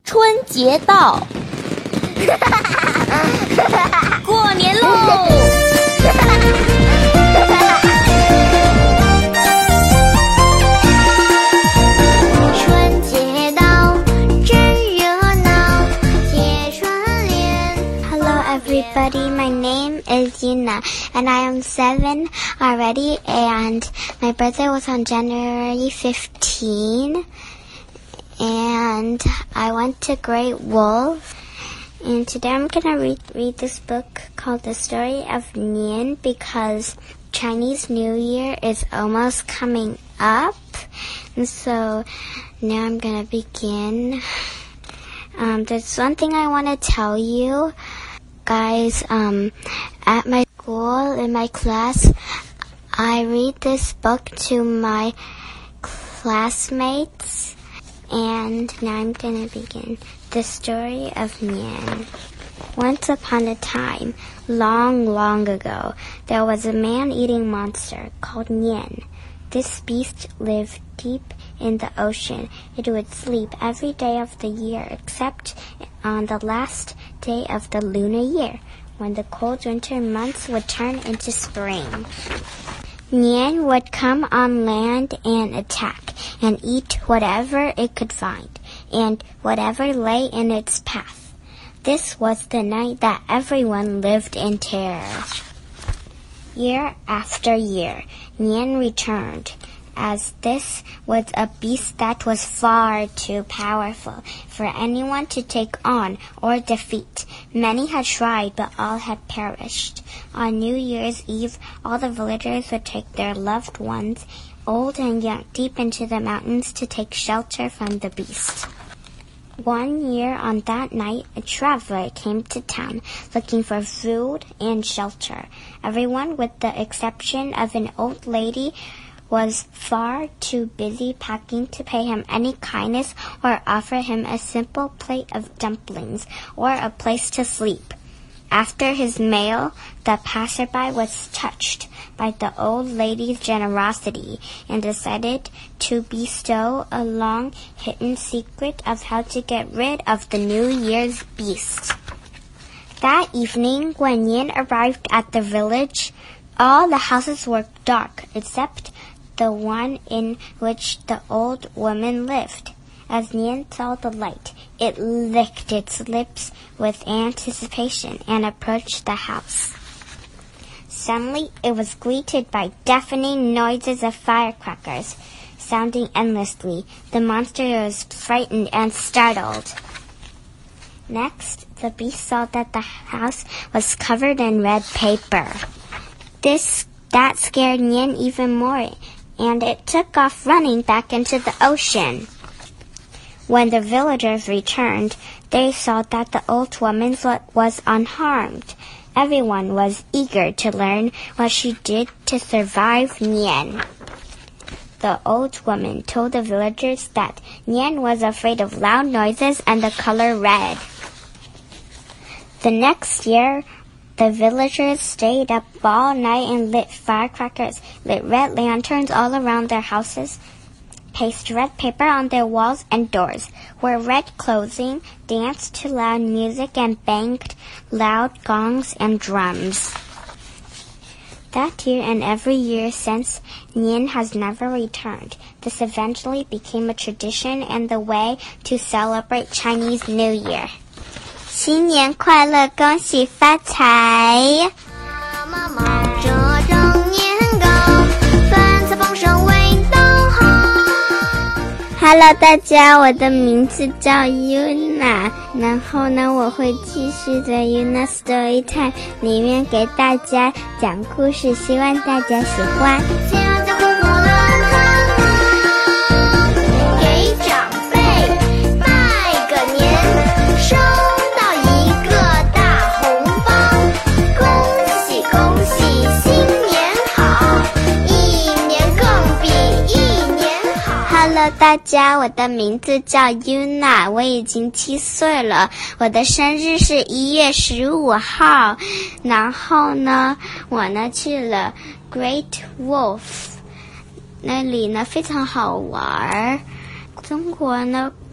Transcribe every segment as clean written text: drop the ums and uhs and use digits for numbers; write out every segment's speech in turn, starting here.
春节到，过年喽！ 春节到，真热闹，贴春联。Hello everybody, my name is Yuna and I am 7 already, and my birthday was on January 15. And I went to Great Wolf, and today I'm going to read this book called The Story of Nian, because Chinese New Year is almost coming up, and so now I'm going to begin. There's one thing I want to tell you, guys. At my school, in my class, I read this book to my classmates. And now I'm going to begin. The Story of Nian. Once upon a time, long, long ago, there was a man-eating monster called Nian. This beast lived deep in the ocean. It would sleep every day of the year except on the last day of the lunar year, when the cold winter months would turn into spring. Nian would come on land and attack, and eat whatever it could find, and whatever lay in its path. This was the night that everyone lived in terror. Year after year, Nian returned, as this was a beast that was far too powerful for anyone to take on or defeat. Many had tried, but all had perished. On New Year's Eve, all the villagers would take their loved ones, old and young, deep into the mountains to take shelter from the beast. One year on that night, a traveler came to town looking for food and shelter. Everyone, with the exception of an old lady, was far too busy packing to pay him any kindness or offer him a simple plate of dumplings or a place to sleep. After his meal, the passerby was touched by the old lady's generosity and decided to bestow a long hidden secret of how to get rid of the New Year's beast. That evening, when Nian arrived at the village, all the houses were dark except the one in which the old woman lived. As Nian saw the light, it licked its lips with anticipation and approached the house. Suddenly, it was greeted by deafening noises of firecrackers, sounding endlessly. The monster was frightened and startled. Next, the beast saw that the house was covered in red paper. That scared Nian even more, and it took off running back into the ocean. When the villagers returned, they saw that the old woman was unharmed. Everyone was eager to learn what she did to survive Nian. The old woman told the villagers that Nian was afraid of loud noises and the color red. The next year, the villagers stayed up all night and lit firecrackers, lit red lanterns all around their houses, pasted red paper on their walls and doors, wore red clothing, danced to loud music, and banged loud gongs and drums. That year and every year since, Nian has never returned. This eventually became a tradition and the way to celebrate Chinese New Year. 新年快乐，恭喜发财！妈妈忙着整年糕，饭菜丰盛味道好。Hello， 大家，我的名字叫 Yuna， 然后呢，我会继续在 Yuna Story Time 里面给大家讲故事，希望大家喜欢。给长辈拜个年，收到一个大红包，恭喜恭喜，新年好，一年更比一年好。Hello， 大家，我的名字叫 Yuna， 我已经7岁了，我的生日是1月15号。然后呢，我呢去了 Great Wolf， 那里呢非常好玩。中国呢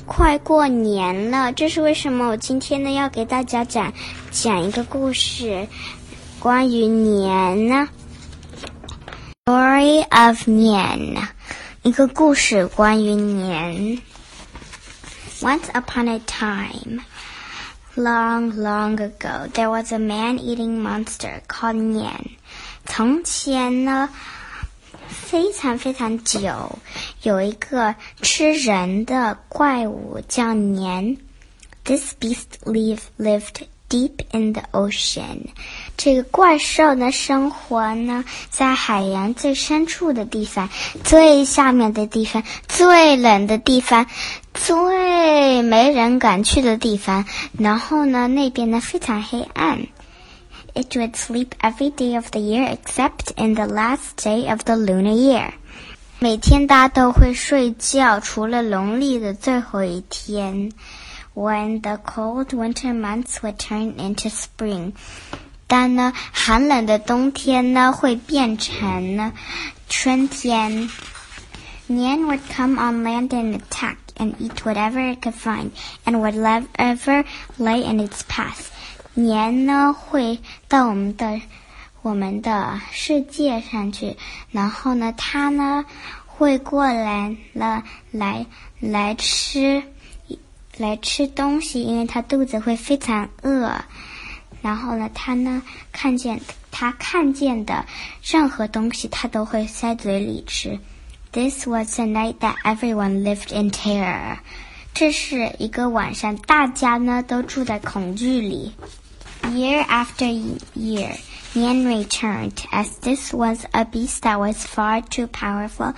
快过年了，这是为什么我今天呢要给大家讲一个故事，关于年呢。Story of 年，一个故事关于年。Once upon a time, long, long ago, there was a man-eating monster called 年。从前呢，非常非常久，有一个吃人的怪物叫年。This beast lived deep in the ocean. 这个怪兽呢，生活呢在海洋最深处的地方，最下面的地方，最冷的地方，最没人敢去的地方。然后呢，那边呢非常黑暗。It would sleep every day of the year except in the last day of the lunar year. 每天大家都会睡觉，除了农历的最后一天。When the cold winter months would turn into spring. 但呢，寒冷的冬天呢会变成呢春天。年 would come on land and attack and eat whatever it could find and whatever lay in its path. 年呢会到我们的世界上去，然后呢它呢会过来了来吃东西，因为它肚子会非常饿。然后呢它看见的任何东西它都会塞嘴里吃。This was the night that everyone lived in terror. 这是一个晚上，大家呢都住在恐惧里。Year after year, Nian returned, as this was a beast that was far too powerful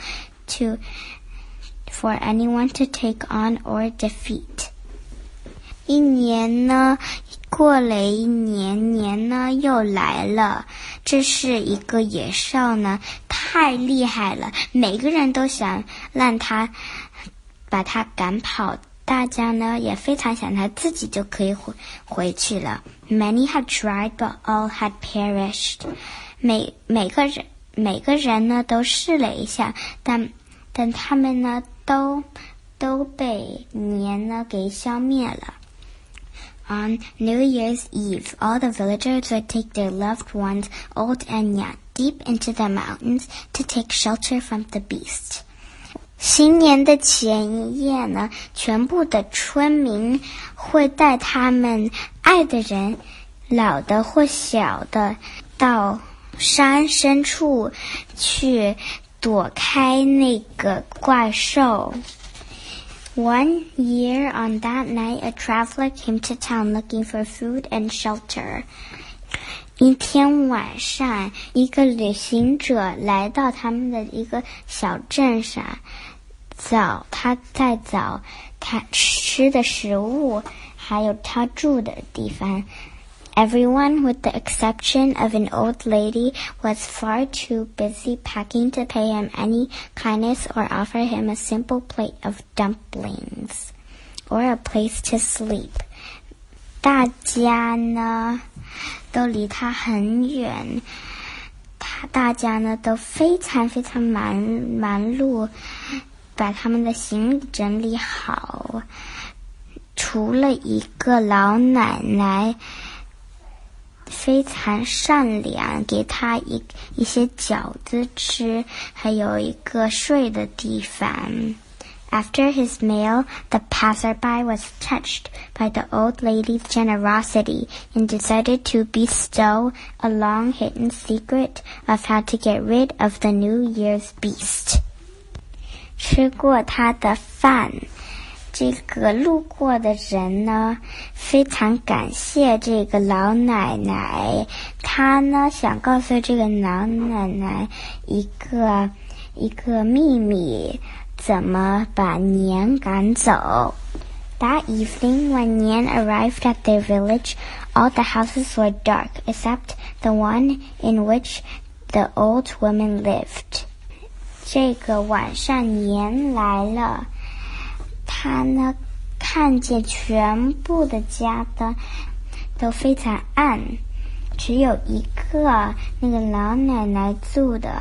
for anyone to take on or defeat. 一年呢，过了一年，年呢又来了。这是一个野兽呢，太厉害了，每个人都想把它赶跑。大家呢也非常想他自己就可以回去了。Many had tried, but all had perished. 每个人呢都试了一下，但他们呢都被年呢给消灭了。On New Year's Eve, all the villagers would take their loved ones, old and young, deep into the mountains to take shelter from the beast. 新年的前一夜呢，全部的村民会带他们爱的人，老的或小的，到山深处去躲开那个怪兽。One year on that night, a traveler came to town looking for food and shelter. 一天晚上，一个旅行者来到他们的一个小镇上，他在找他吃的食物，还有他住的地方。Everyone, with the exception of an old lady, was far too busy packing to pay him any kindness or offer him a simple plate of dumplings or a place to sleep. 大家呢都离他很远，大家呢都非常非常忙碌，把他们的行李整理好。除了一个老奶奶非常善良，给他一些饺子吃，还有一个睡的地方。After his meal, the passerby was touched by the old lady's generosity and decided to bestow a long-hidden secret of how to get rid of the New Year's beast. 吃过他的饭，这个路过的人呢，非常感谢这个老奶奶。他呢，想告诉这个老奶奶一个秘密，怎么把年赶走。That evening, when Nian arrived at their village, all the houses were dark, except the one in which the old woman lived. 这个晚上年来了，他呢看见全部的家灯都非常暗，只有一个那个老奶奶住的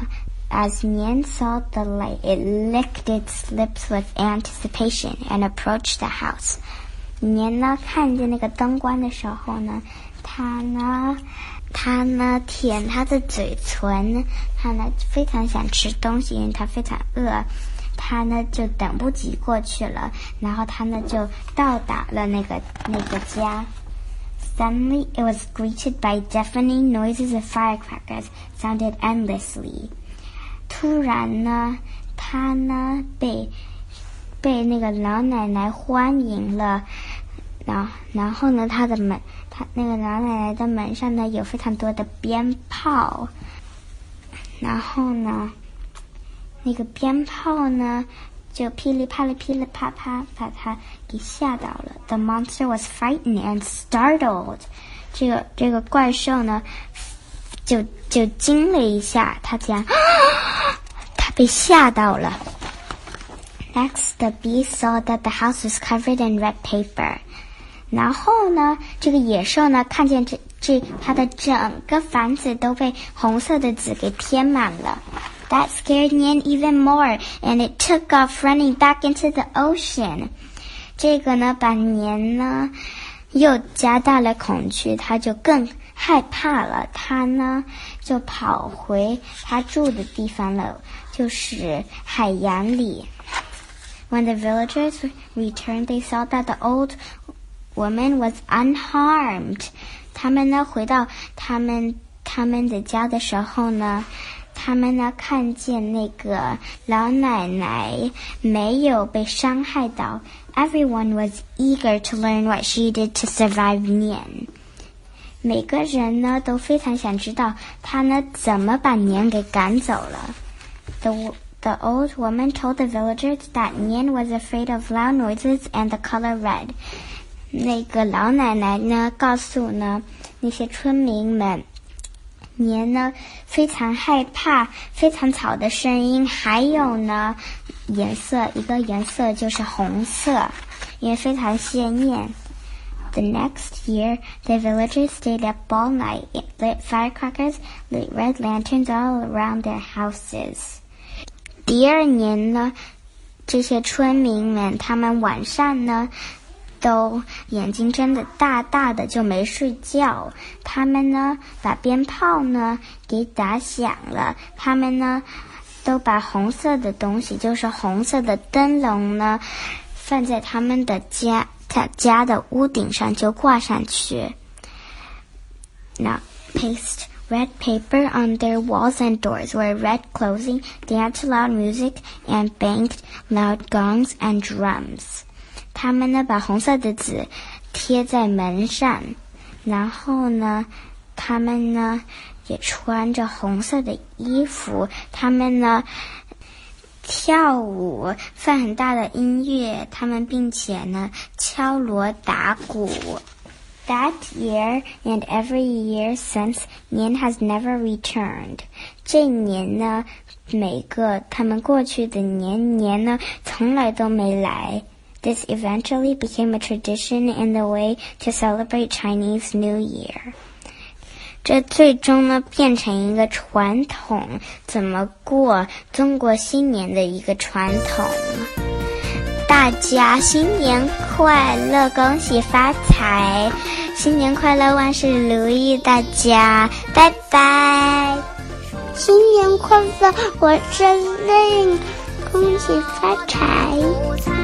As Nian saw the light, it licked its lips with anticipation and approached the house. 年呢看见那个灯光的时候呢，他呢舔他的嘴唇，他呢非常想吃东西，因为他非常饿，他呢就等不及过去了，然后他呢就到达了那个家。Suddenly, it was greeted by deafening noises of firecrackers sounded endlessly. 突然呢，他呢被那个老奶奶欢迎了，然后呢，他那个老奶奶的门上呢有非常多的鞭炮，然后呢，那个鞭炮呢就噼里啪啦噼里啪啪把他给吓到了。The monster was frightened and startled. 这个怪兽呢就惊了一下，他被吓到了。Next, the beast saw that the house was covered in red paper. 然后呢，这个野兽呢看见它的整个房子都被红色的纸给贴满了。That scared Nian even more, and it took off running back into the ocean. 这个呢把年呢又加大了恐惧，他就更害怕了，他呢就跑回他住的地方了，就是海洋里。When the villagers returned, they saw that the old woman was unharmed. 他们呢回到他们的家的时候呢，他们呢看见那个老奶奶没有被伤害到。Everyone was eager to learn what she did to survive Nian. 每个人呢都非常想知道她呢怎么把年给赶走了。The old woman told the villagers that Nian was afraid of loud noises and the color red. 那个老奶奶呢告诉呢那些村民们，年呢非常害怕非常吵的声音，还有呢一个颜色就是红色，因为非常鲜艳。The next year, the villagers stayed up all night, lit firecrackers, lit red lanterns all around their houses. 第二年呢，这些村民们他们晚上呢都眼睛睁得大大的，就没睡觉。他们呢把鞭炮呢给打响了，他们呢都把红色的东西，就是红色的灯笼呢放在他们的家的屋顶上，就挂上去。Now paste red paper on their walls and doors, wear red clothing, dance loud music, and banged loud gongs and drums. 他们呢把红色的纸贴在门上，然后呢他们呢也穿着红色的衣服，他们呢跳舞，放很大的音乐，他们并且呢敲锣打鼓。That year and every year since, Nian has never returned. 这年呢，每个他们过去的年呢，从来都没来。This eventually became a tradition in the way to celebrate Chinese New Year. 这最终呢变成一个传统，怎么过中国新年的一个传统。大家新年快乐，恭喜发财，新年快乐，万事如意，大家拜拜。 新年快乐，我是令，恭喜发财。